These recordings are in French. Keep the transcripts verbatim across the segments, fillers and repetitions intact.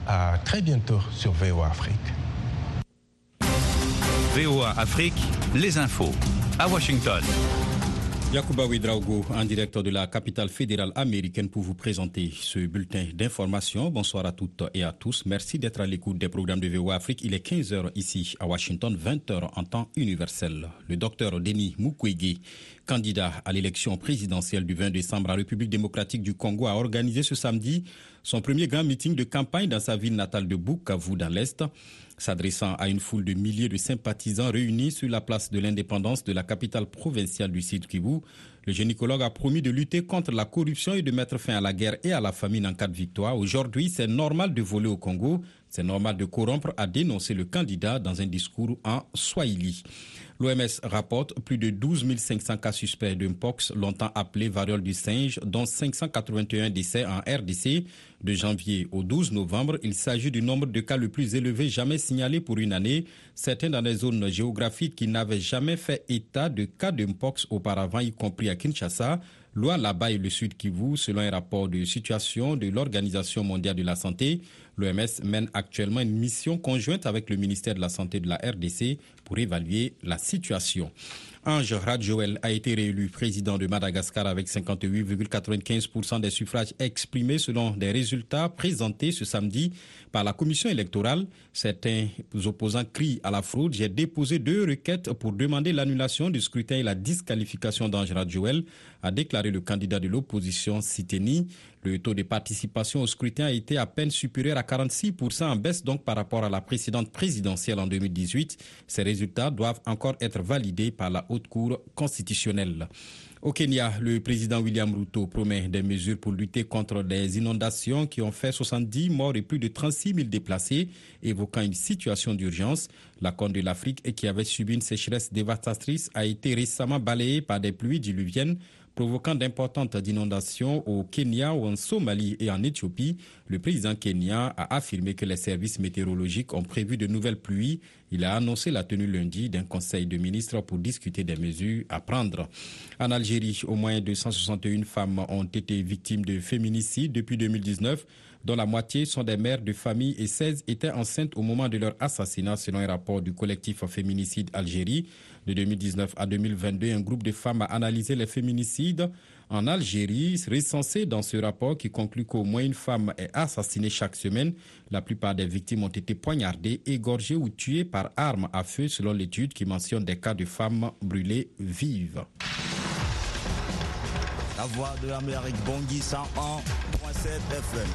À très bientôt sur V O A Afrique. V O A Afrique, les infos. À Washington. Yacouba Ouedraogo, en direct de la capitale fédérale américaine pour vous présenter ce bulletin d'information. Bonsoir à toutes et à tous. Merci d'être à l'écoute des programmes de V O A Afrique. Il est quinze heures ici à Washington, vingt heures en temps universel. Le docteur Denis Mukwege, candidat à l'élection présidentielle du vingt décembre en République démocratique du Congo, a organisé ce samedi son premier grand meeting de campagne dans sa ville natale de Bukavu dans l'Est. S'adressant à une foule de milliers de sympathisants réunis sur la place de l'indépendance de la capitale provinciale du Sud Kivu, le gynécologue a promis de lutter contre la corruption et de mettre fin à la guerre et à la famine en cas de victoire. Aujourd'hui, c'est normal de voler au Congo, c'est normal de corrompre, a dénoncé le candidat dans un discours en Swahili. L'O M S rapporte plus de douze mille cinq cents cas suspects de mpox, longtemps appelé variole du singe, dont cinq cent quatre-vingt-un décès en R D C. De janvier au douze novembre, il s'agit du nombre de cas le plus élevé jamais signalé pour une année. Certains dans les zones géographiques qui n'avaient jamais fait état de cas de mpox auparavant, y compris à Kinshasa, Lualaba et le Sud Kivu, selon un rapport de situation de l'Organisation mondiale de la santé. L'O M S mène actuellement une mission conjointe avec le ministère de la Santé de la R D C pour évaluer la situation. Ange Radjoel a été réélu président de Madagascar avec cinquante-huit virgule quatre-vingt-quinze pour cent des suffrages exprimés selon des résultats présentés ce samedi par la commission électorale. Certains opposants crient à la fraude. J'ai déposé deux requêtes pour demander l'annulation du scrutin et la disqualification d'Ange Radjoel, a déclaré le candidat de l'opposition Siteni. Le taux de participation au scrutin a été à peine supérieur à quarante-six pour cent, en baisse donc par rapport à la précédente présidentielle en deux mille dix-huit. Ces résultats doivent encore être validés par la Haute Cour constitutionnelle. Au Kenya, le président William Ruto promet des mesures pour lutter contre des inondations qui ont fait soixante-dix morts et plus de trente-six mille déplacés, évoquant une situation d'urgence. La Corne de l'Afrique, qui avait subi une sécheresse dévastatrice, a été récemment balayée par des pluies diluviennes, provoquant d'importantes inondations au Kenya, en Somalie et en Éthiopie. Le président kenyan a affirmé que les services météorologiques ont prévu de nouvelles pluies. Il a annoncé la tenue lundi d'un conseil de ministres pour discuter des mesures à prendre. En Algérie, au moins deux cent soixante et une femmes ont été victimes de féminicide depuis deux mille dix-neuf, dont la moitié sont des mères de famille et seize étaient enceintes au moment de leur assassinat, selon un rapport du collectif Féminicide Algérie. De deux mille dix-neuf à deux mille vingt-deux, un groupe de femmes a analysé les féminicides en Algérie, recensés dans ce rapport qui conclut qu'au moins une femme est assassinée chaque semaine. La plupart des victimes ont été poignardées, égorgées ou tuées par arme à feu, selon l'étude qui mentionne des cas de femmes brûlées vives. La voix de l'Amérique, Bangui cent un virgule sept F M.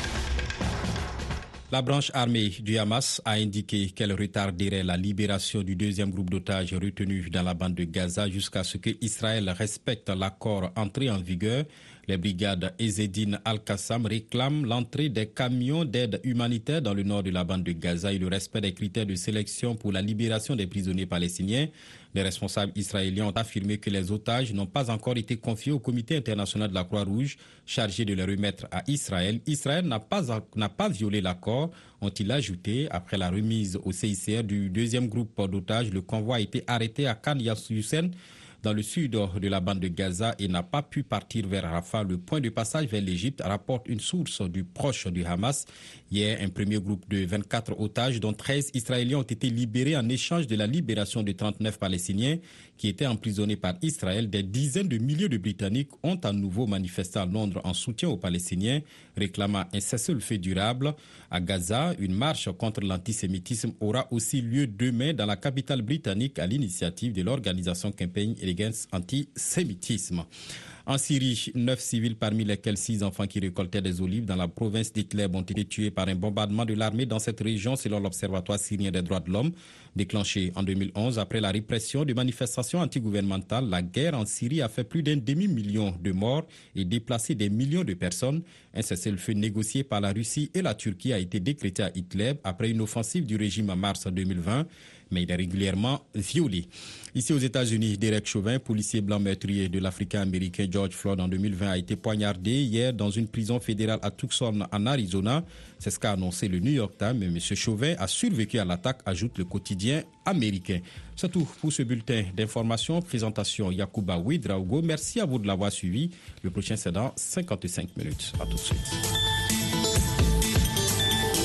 La branche armée du Hamas a indiqué qu'elle retarderait la libération du deuxième groupe d'otages retenu dans la bande de Gaza jusqu'à ce que Israël respecte l'accord entré en vigueur. Les brigades Ezzedine Al-Qassam réclament l'entrée des camions d'aide humanitaire dans le nord de la bande de Gaza et le respect des critères de sélection pour la libération des prisonniers palestiniens. Les responsables israéliens ont affirmé que les otages n'ont pas encore été confiés au Comité international de la Croix-Rouge, chargé de les remettre à Israël. Israël n'a pas, n'a pas violé l'accord, ont-ils ajouté. Après la remise au C I C R du deuxième groupe d'otages, le convoi a été arrêté à Khan Youssef, dans le sud de la bande de Gaza, et n'a pas pu partir vers Rafah, le point de passage vers l'Égypte, rapporte une source du proche du Hamas. Hier, un premier groupe de vingt-quatre otages, dont treize Israéliens, ont été libérés en échange de la libération de trente-neuf Palestiniens qui étaient emprisonnés par Israël. Des dizaines de milliers de Britanniques ont à nouveau manifesté à Londres en soutien aux Palestiniens, réclamant un cessez-le-feu durable. À Gaza, une marche contre l'antisémitisme aura aussi lieu demain dans la capitale britannique à l'initiative de l'organisation Campaign Against Antisémitisme. En Syrie, neuf civils, parmi lesquels six enfants qui récoltaient des olives dans la province d'Idlib, ont été tués par un bombardement de l'armée dans cette région, selon l'Observatoire syrien des droits de l'homme. Déclenché en deux mille onze après la répression de manifestations antigouvernementales, la guerre en Syrie a fait plus d'un demi-million de morts et déplacé des millions de personnes. Un cessez-le-feu négocié par la Russie et la Turquie a été décrété à Idlib après une offensive du régime en mars deux mille vingt, mais il est régulièrement violé. Ici aux États-Unis, Derek Chauvin, policier blanc meurtrier de l'Africain-Américain George Floyd en deux mille vingt, a été poignardé hier dans une prison fédérale à Tucson, en Arizona. C'est ce qu'a annoncé le New York Times. Mais M. Chauvin a survécu à l'attaque, ajoute le quotidien américain. C'est tout pour ce bulletin d'information. Présentation Yacouba Ouedraogo. Merci à vous de l'avoir suivi. Le prochain, c'est dans cinquante-cinq minutes. À tout de suite.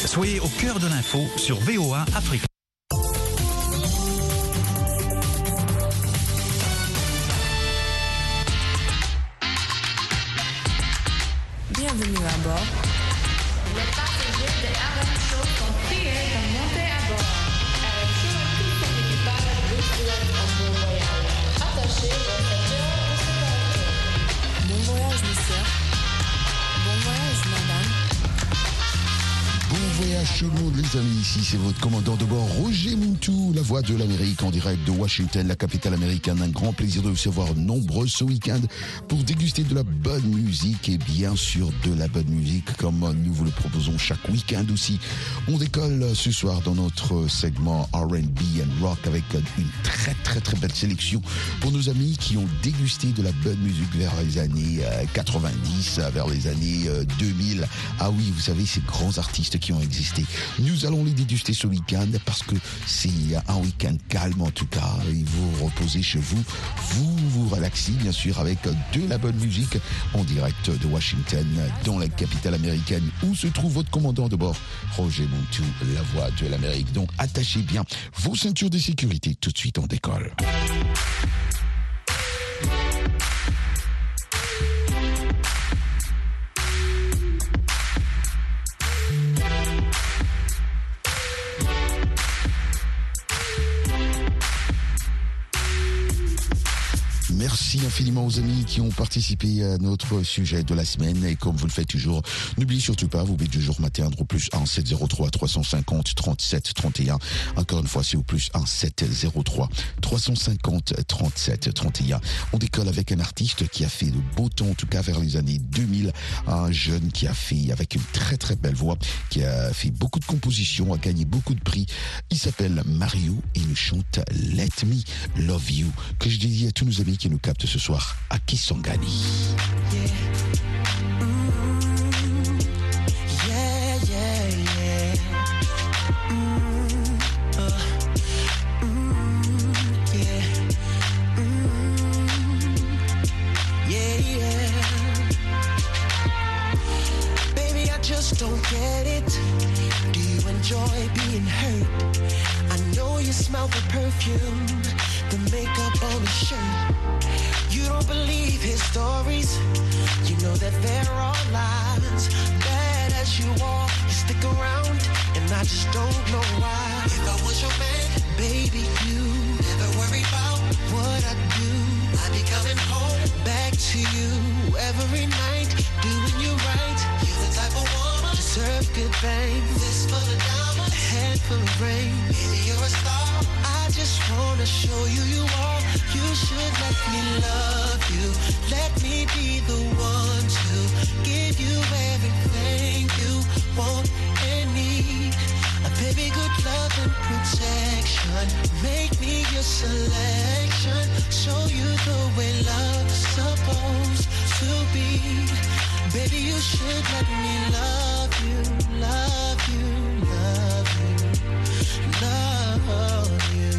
Soyez au cœur de l'info sur V O A Afrique. Bienvenue à bord. Les passagers de Aaron Show sont priés de monter à bord. Aaron Show et tout son équipage vous souhaitent un bon voyage. Attachez vos ceintures de sécurité. Bon voyage, monsieur. Bon voyage, madame. Bon voyage tout le monde les amis, ici c'est votre commandant de bord Roger Muntu, la voix de l'Amérique en direct de Washington, la capitale américaine. Un grand plaisir de vous recevoir nombreux ce week-end pour déguster de la bonne musique et bien sûr de la bonne musique comme nous vous le proposons chaque week-end aussi. On décolle ce soir dans notre segment R and B and Rock avec une très très très belle sélection pour nos amis qui ont dégusté de la bonne musique vers les années quatre-vingt-dix, vers les années deux mille. Ah oui, vous savez, ces grands artistes qui ont existé. Nous allons les déguster ce week-end parce que c'est un week-end calme en tout cas. Et vous reposez chez vous, vous vous relaxez bien sûr avec de la bonne musique en direct de Washington, dans la capitale américaine où se trouve votre commandant de bord, Roger Muntu, la voix de l'Amérique. Donc attachez bien vos ceintures de sécurité. Tout de suite on décolle. Merci infiniment aux amis qui ont participé à notre sujet de la semaine. Et comme vous le faites toujours, n'oubliez surtout pas, vous pouvez toujours m'atteindre au plus un sept zéro trois trois cent cinquante trente-sept trente et un. Encore une fois, c'est au plus un sept zéro trois trois cent cinquante trente-sept trente et un. On décolle avec un artiste qui a fait de beau temps, en tout cas vers les années deux mille. Un jeune qui a fait, avec une très très belle voix, qui a fait beaucoup de compositions, a gagné beaucoup de prix. Il s'appelle Mario et il nous chante Let Me Love You, que je dédie à tous nos amis qui nous capte ce soir à Kisangani. Yeah. Mm, yeah, yeah, yeah. Mm, uh, mm, yeah. Mm, yeah, yeah. Baby, I just don't get it. Do you enjoy being hurt? I know you smell the perfume, the makeup on his shirt. You don't believe his stories. You know that there are lies. Bad as you are, you stick around, and I just don't know why. If I was your man, baby, you never worry about what I do. I'd be coming home back to you every night, doing you right. You're the type of woman deserve good things. This full of diamonds, a head full of rain. Baby, you're a star. I just wanna show you you are. You should let me love you. Let me be the one to give you everything you want and need. A baby, good love and protection. Make me your selection. Show you the way love's supposed to be. Baby, you should let me love you, love you, love you, love you.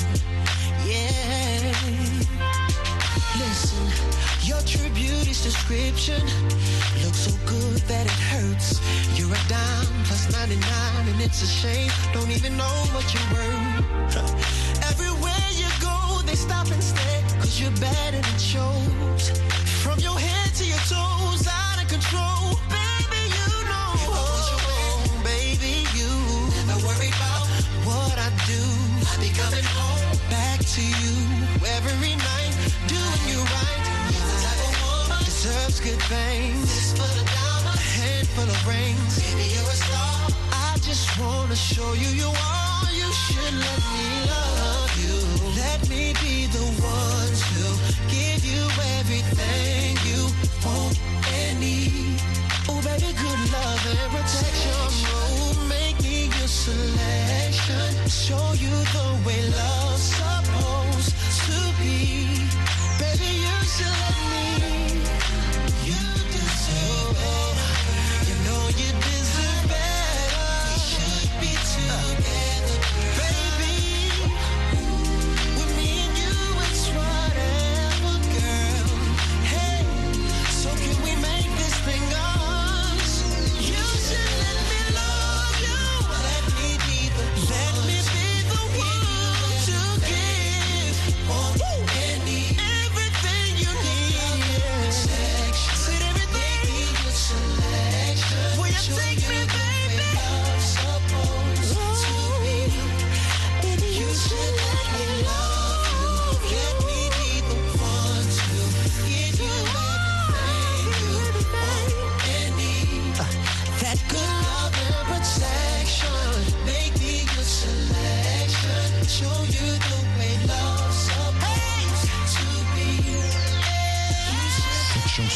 Yeah. Listen, your true beauty's description looks so good that it hurts. You're a dime plus ninety-nine and it's a shame. Don't even know what you're worth. Everywhere you go, they stop and stare, cause you're bad and it shows. From your head to your toes, out of control. Baby, you know. If I was your man, baby, you never worry about what I do. I'd be coming home back to you every night, doing you right. You're the type of woman deserves good things. This full of diamonds, a head full of rings. Baby, you're a star. I just wanna show you you are. You should let me love you. Let me be the one to give you everything you want and need. Oh, baby, good love and protection. Oh, make me your selection. Show you the way love's supposed to be. Baby, you should let me. You deserve it. You know you deserve better. We should be together, baby. With me and you, it's whatever, girl. Hey, so can we make this thing us? You should let me love you.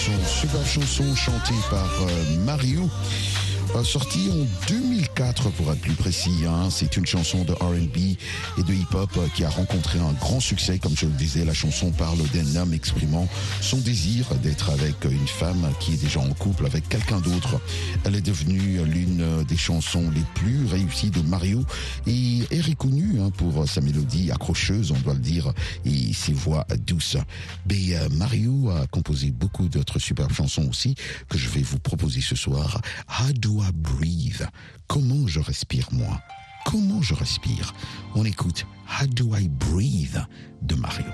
chanson, superbe chanson chantée par euh, Mario, euh, sortie en deux mille quatre pour être plus précis. Hein. C'est une chanson de R and B et de hip-hop euh, qui a rencontré un grand succès. Comme je le disais, la chanson parle d'un homme exprimant son désir d'être avec une femme qui est déjà en couple avec quelqu'un d'autre. Elle est devenue l'une des chansons les plus réussies de Mario et est reconnue hein, pour sa mélodie accrocheuse, on doit le dire, et ses voix douces. Mais euh, Mario a composé beaucoup d'autres superbes chansons aussi que je vais vous proposer ce soir. How do I breathe? Comment je respire moi? Comment je respire? On écoute How do I breathe de Mario.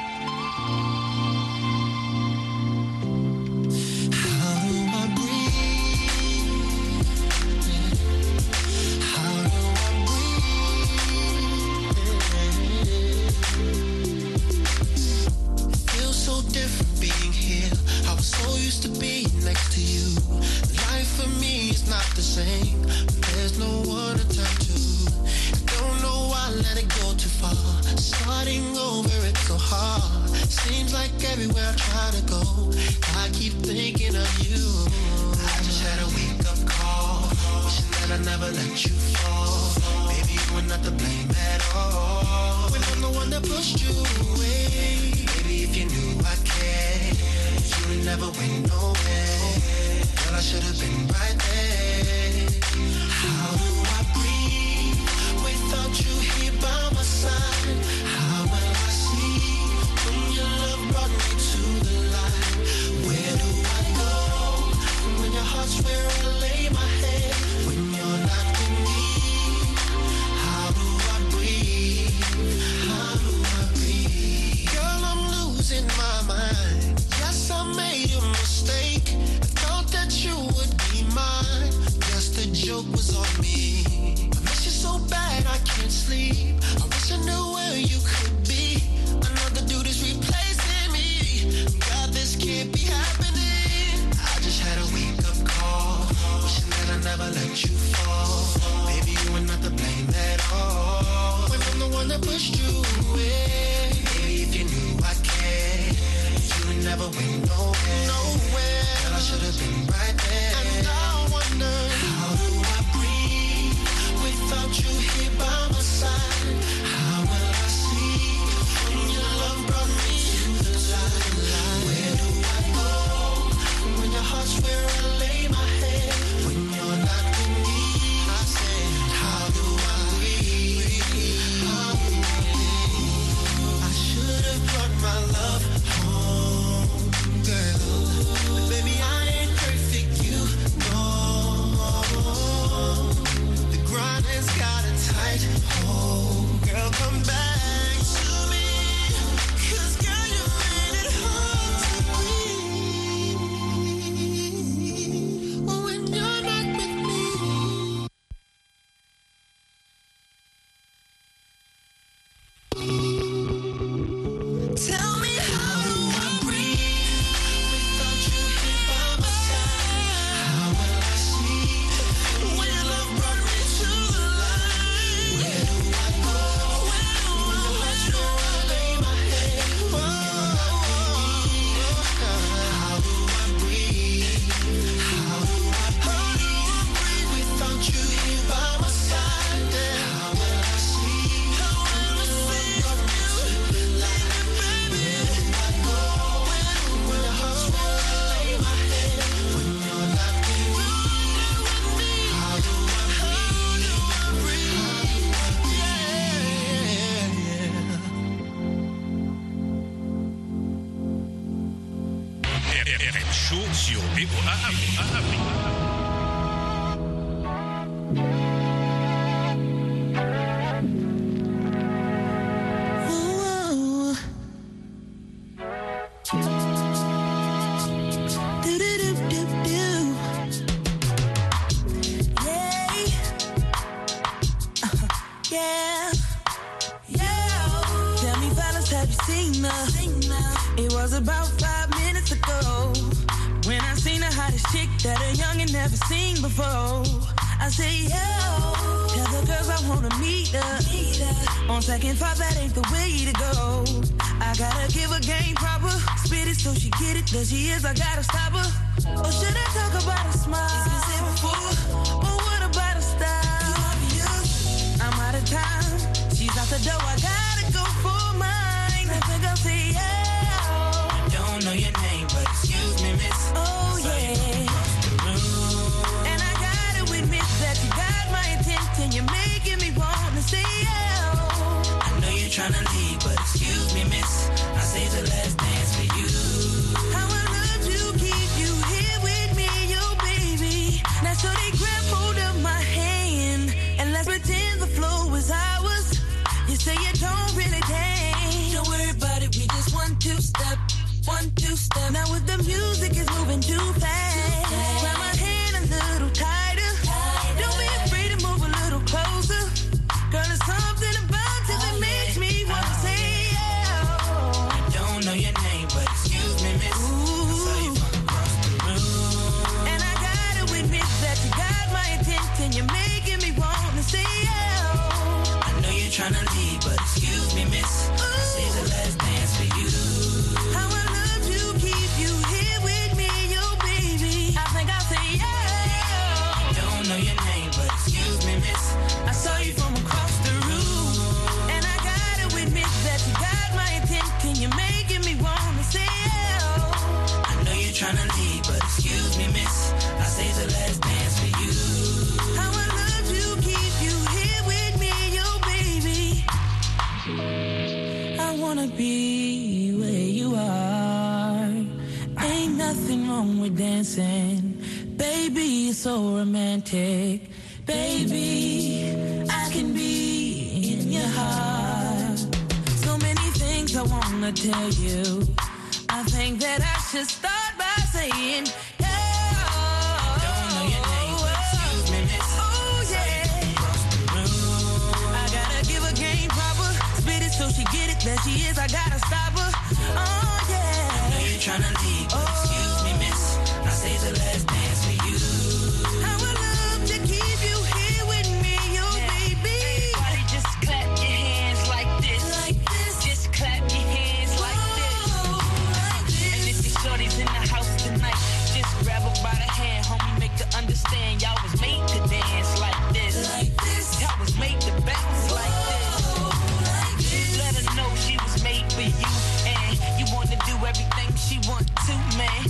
To be next to you, life for me is not the same. There's no one to turn to. I don't know why I let it go too far. Starting over, it's so hard. Seems like everywhere I try to go, I keep thinking of you. I just had a wake up call, wishing that I never let you fall. Baby, you were not to blame at all. When I'm the one that pushed you away. Baby, if you knew I cared, you never went nowhere. Girl, I should have been right there. How do I breathe without you here by my side? How will I see when your love brought me to the light? Where do I go when your heart's where I lay my head? When you're not with me, how do I breathe? How do I breathe? Girl, I'm losing my mind. Yes, I made a mistake. I thought that you would be mine. Guess the joke was on me. I miss you so bad I can't sleep. I wish I knew where you could be. Another dude is replacing me. God, this can't be happening. I just had a wake up call, wishing that I never let you fall. Baby, you were not to blame at all. When I'm the one that pushed you away. Baby, if you knew I cared, you never went nowhere. Nowhere. Girl, I should have been right there. And I wonder, how do I breathe without you here by my side? How will I see when your love brought me to the light? Where do I go when your heart's where I lay my head? When you're not with me, I said, how do I breathe? How do I breathe? I should have brought my love home, girl. But baby, I ain't perfect, you know. The grind has got a tight hold. Girl, come back to me, 'cause girl, you made it hard to breathe when you're not with me. Tell me, how do I breathe without you here by my side? How will I see when your love brought me to the light? Where do I go? Where do I go? Where I lay my head? When you're not with me, how do I breathe? How do I breathe without you here by my side? How will I see? How will I see your love brought me to the light? Where do I go? Where when your heart's where I lay my head? When you're not with me, how do I breathe? How do I breathe? R M Show sur V O A Afrique. Ooh. Do-do-do-do-do. Yeah. Uh-huh. Yeah. Yeah. Tell me, fellas, have you seen her? It was about five minutes ago when I seen the hottest chick that a youngin' never seen before. I say, yo, tell the girls I wanna meet up. On second thought, that ain't the way to go. I gotta give her game proper. Spit it so she get it. There she is, I gotta stop her. Or should I talk about a smile? It's been said before. But what about a style? I'm out of time. She's out the door, I gotta go for mine. I think I'll say yeah. I don't know your name, but excuse me, miss. Oh yeah. And I gotta admit that you got my attention. You're making me wanna say yeah. I know you're trying to leave, but excuse me, miss. I saved the last dance for you. How I love to keep you here with me, yo baby. Now so they grab hold of my hand and let's pretend the flow is ours. You say you don't really dance. Don't worry about it, we just one two step, one two step. Now with the music is moving too fast, grab my hand a little tighter. Don't be afraid to move a little closer. Girl, there's something about you that makes me wanna say yeah. I don't know your name, but excuse me, miss. I saw you from across the room. And I gotta admit that you got my attention. You're making me wanna say yeah. I know you're trying to leave, but excuse me, miss. I saved the last dance for you. How I love to keep you here with me, yo baby. I think I'll say yeah. I don't know your name, but excuse me, miss. I saw you from across the room. And I gotta admit that you got my attention. You're making me wanna say yeah. I know you're trying to leave, but excuse me, miss. I saved the last dance for you. How I love to keep you here with me, yo baby. I wanna be where you are. Ain't nothing wrong with dancing. Baby, it's so romantic. Baby, I can be in your heart. So many things I wanna tell you. I think that I should start by saying I don't know your name, but excuse me, miss. oh yeah. I gotta give her game proper. Spit it so she get it. There she is, I gotta stop her. Oh yeah. I know you're trying to leave, but excuse me, miss. I saved the last dance for you. How I love to keep you here with me, yo baby. Everybody just clap your hands like this. Like this. Just clap your hands like this. Oh, like And this. if your shorty's in the house tonight, just grab her by the hand, homie, make her understand y'all was made to dance like this. Like this. Y'all was made to bounce like this. Oh, like this. Let her know she was made for you, and you wanna do everything she want to, man.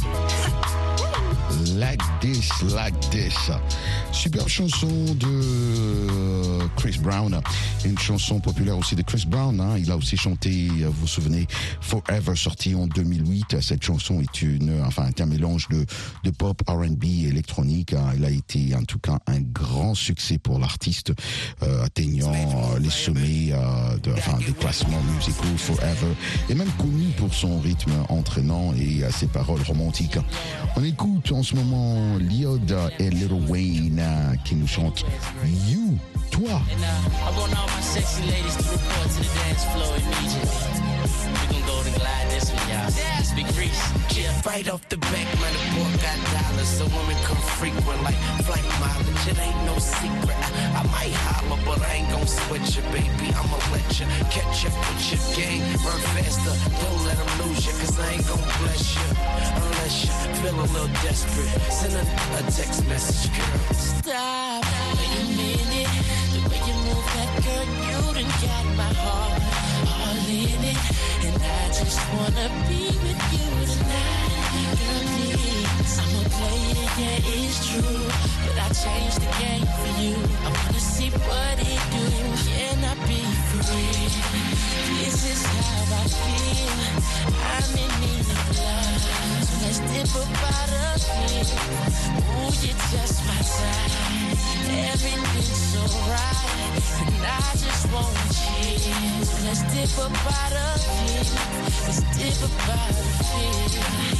Like This, Like This. Superbe chanson de Chris Brown. Une chanson populaire aussi de Chris Brown. Hein. Il a aussi chanté, vous vous souvenez, Forever, sorti en deux mille huit. Cette chanson est une, enfin, un mélange de, de pop, R and B et électronique. Hein. Il a été en tout cas un grand succès pour l'artiste, euh, atteignant euh, les sommets euh, de, enfin, des classements musicaux Forever, et même connu pour son rythme entraînant et euh, ses paroles romantiques. On écoute en ce moment Liod et Lil Wayne euh, qui nous chantent You, toi. And uh, I want all my sexy ladies to report to the dance floor immediately. We gon' go to glide this one, y'all. Yes, Big Reese. Yeah, right off the back, man, the boy got dollars, so women come frequent like flight mileage. It ain't no secret. I, I might holler, but I ain't gon' sweat you, baby. I'ma let you catch up with your game. Run faster, don't let them lose you, cause I ain't gon' bless you unless you feel a little desperate. Send a, a text message, girl. Stop. Wait a minute. The way you move that girl, you done got my heart all in it. And I just wanna be with you tonight. Girl, please. I'm a player, yeah, it's true. But I changed the game for you. I wanna see what it do. Can I be free? This is how I feel. I'm in need of love. So let's dip about a bit. Ooh, you're just my type. Everything's so right. And I just want you. So let's dip about a bit. Let's dip about a bit.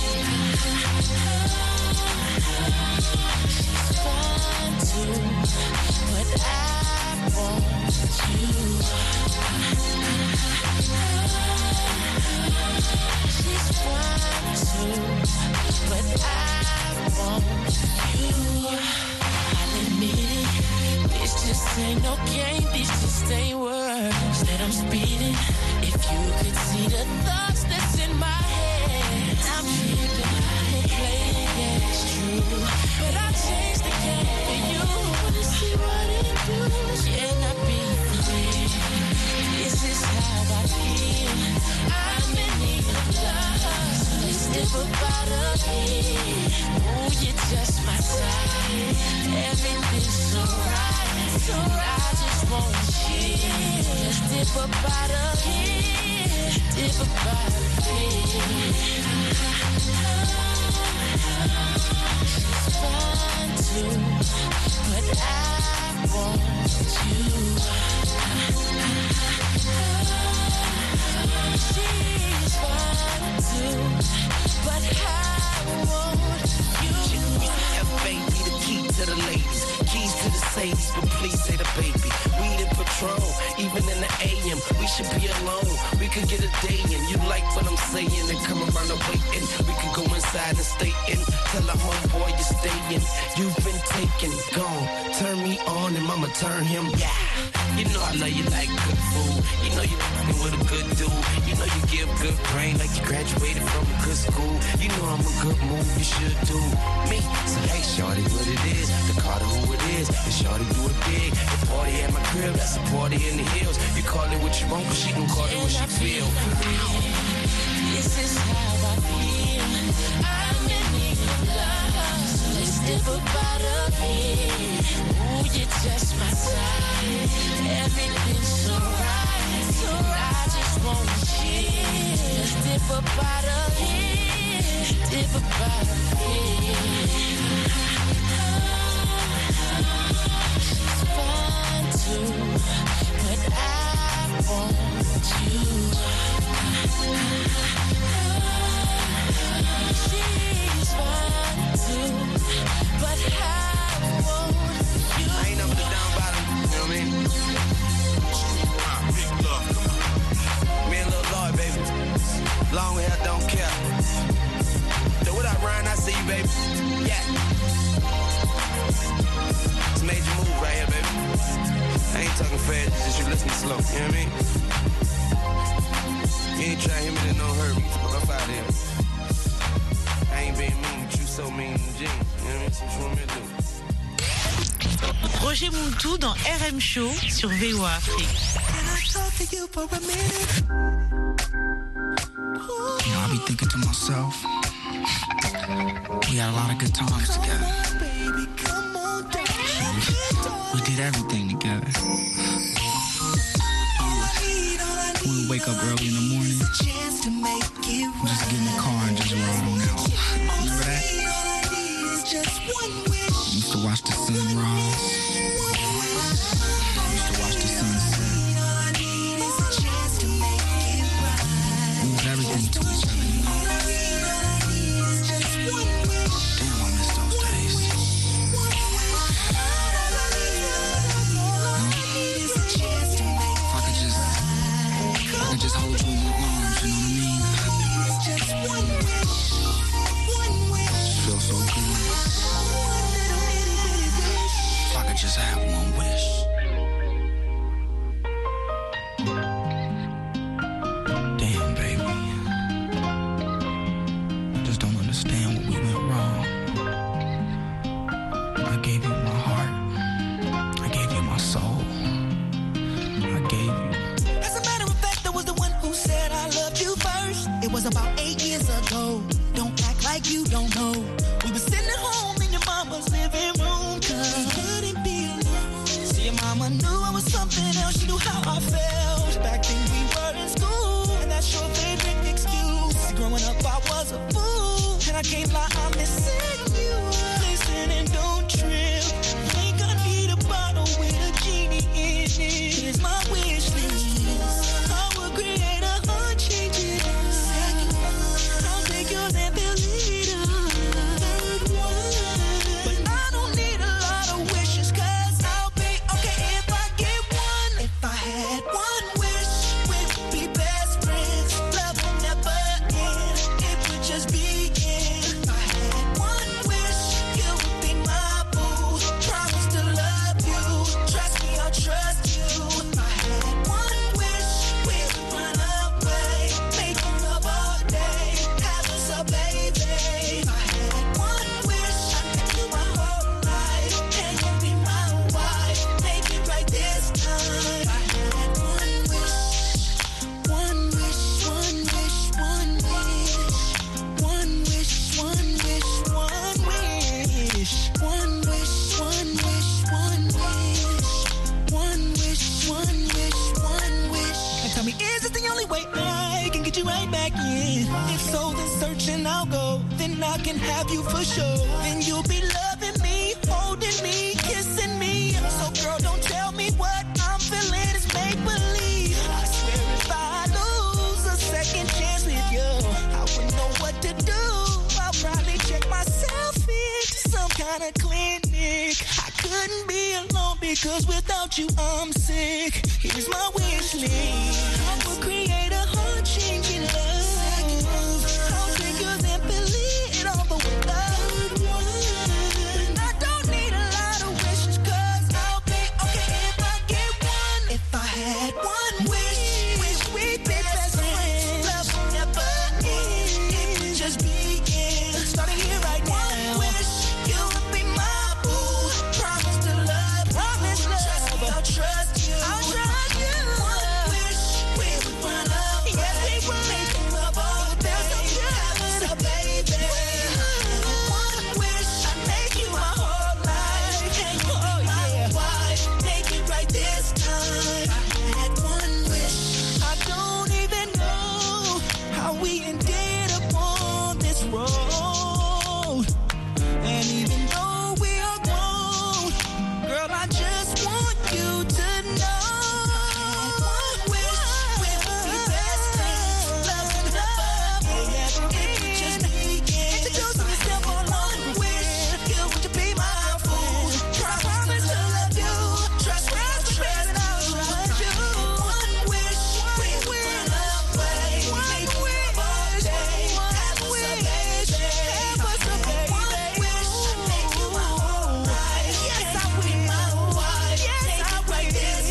She's fine too, but I want you. She's fine too, but I want you. I'll admit it, it's just This ain't no game, this just ain't words that I'm speeding. If you could see the thoughts that's in my head, I'm tripping, I'm playing, yeah, it's true. But I changed the game for you. Wanna see what it do? Can I be free? This is how I feel. I'm in need of love. So let's step up out of here. Oh, you're just my type. Everything's so right, so I just wanna chill. Let's dip up out of here, dip up out of here. She's fine too, but I want you. She's fine too, but I want you. F A be the key to the ladies, keys to the Sadies, but please say the baby. We in patrol, even in the A M. We should be alone. We could get a day in. You like what I'm saying and come around the waiting. We could go inside and stay in. Tell the homeboy you're staying. You've been taken, gone. Turn me on and mama turn him. Yeah. You know I love you like good food. You know you fucking with a good dude. You know you give good brain like you graduated from a good school. You know I'm a good move. You should do me. So hey, shorty, what it is? The Carter who it is. And shorty do it big. The party at my crib, that's a party in the hills. You call it what you want, but she can call it what she feel. This is how I feel. I'm in need of love. So let's step up out of here. Ooh, you're just my type. Everything's so right, so I just wanna chill. Let's dip up out of here, dip up out of here. She's fine too, but I want you. She's fine too, but I want you. I ain't up to down bottom, you know what I mean? Big love, me and Lil Lloyd, baby. Long hair, don't care. So what up, Ryan? I see you, baby. Yeah. It's a major move right here, baby. I ain't talking fast, just you listening slow, you know what I mean? You ain't trying to hit me, then don't hurt me. Fuck up out of here. I ain't being mean, but you so mean to Gene. You know what I mean? So what you want me to do? Roger Muntu dans R M Show sur V O A Afrique. You know, I be thinking to myself, we had a lot of good times together. We, we did everything together. We would wake up early in the morning, just get in the car and just ride on out. Remember that? We used to watch the sun rise. We used to watch the sun set. We was everything to each other, you know? Damn, I miss those days. If I could just, if I could just hold you in my arms, you know what I mean? Feel so good. If I could just have one wish. Damn, baby. I just don't understand what we went wrong. I gave you my heart. I gave you my soul. I gave you. As a matter of fact, I was the one who said I loved you first. It was about eight years ago. Don't act like you don't know. We were sitting at home in your mama's living room, cause we couldn't be alone. See, your mama knew I was something else. She knew how I felt. Back then we were in school, and that's your favorite excuse. See, growing up I was a fool, and I can't lie, I'm missing you. Listen and don't trip. Think I need a bottle with a genie in it. Here's my wish list. I will create a heart changing second. I'll take yours and fill it up. Third one. But I don't need a lot of wishes, cause I'll be okay if I get one. If I had one wish, we'd be best friends. Love will never end. It would just begin. If I had one wish, you would be my boo. back in. If so, then searching I'll go. Then I can have you for sure. Then you'll be loving me, holding me, kissing me. So girl, don't tell me what I'm feeling is make believe. I swear if I lose a second chance with you, I wouldn't know what to do. I'll probably check myself into some kind of clinic. I couldn't be alone because without you I'm sick. Here's my wish list. I will create a heart-changing love. I'll take yours and fill it all the way up. And I don't need a lot of wishes, cause I'll be okay if I get one. If I had one wish, wish we'd be best friends. Love will never end, it could just begin. Starting here right now. One wish, you would be my boo. Promise to love, promise love. Trust me, I'll trust you. I'll trust you. One wish, we would run up. Yes, we would. Making love all day. So baby, one wish, I make you my whole life. Can you be my wife? Make it right this time. I had one wish. I don't even know how we ended up on this road. And even though we are grown, girl, I just want you to know. One wish, we would be best friends. Love and love, yeah, it could just begin. Introduce yourself on one wish. You would you be my fool? Promise to love you. Trust, trust, trust, and I'll trust you. One wish, we would run away. Make love all day. Have us a baby. Have us a baby. One wish, I make you my whole life. Yes, I will. My wife. Yes, I will.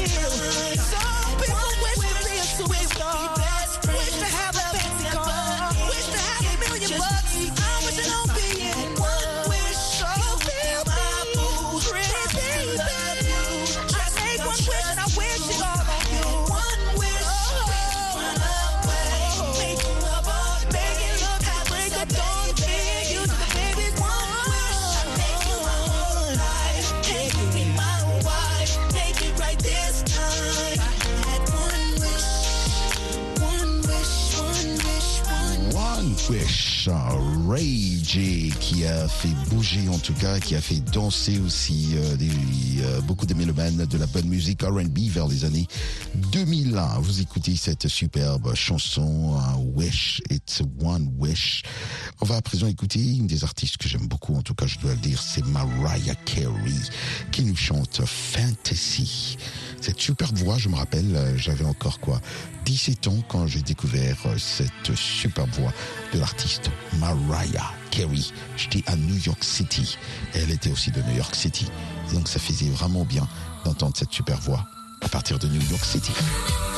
Some people wish to be a superstar. Wish to have a fancy car. Wish to have a million bucks. I wish I don't be in one wish. You feel my boo. Pretty baby. I make one wish and I wish it all on you. One wish. Run away. Make love all day. Make it look how break a dawn. Big you to the babies. One wish. I make you my whole life. Can you be my wife? Make it right this time. I had one wish. One wish. One wish. One One Wish, Ray J, qui a fait bouger en tout cas, qui a fait danser aussi euh, des, euh, beaucoup de mélomanes de la bonne musique R and B vers les années deux mille un. Vous écoutez cette superbe chanson, uh, Wish, It's One Wish. On va à présent écouter une des artistes que j'aime beaucoup, en tout cas je dois le dire, c'est Mariah Carey, qui nous chante Fantasy. Cette superbe voix, je me rappelle, euh, j'avais encore quoi, dix-sept ans quand j'ai découvert euh, cette superbe voix de l'artiste Mariah Carey. J'étais à New York City. Elle était aussi de New York City. Et donc ça faisait vraiment bien d'entendre cette superbe voix à partir de New York City.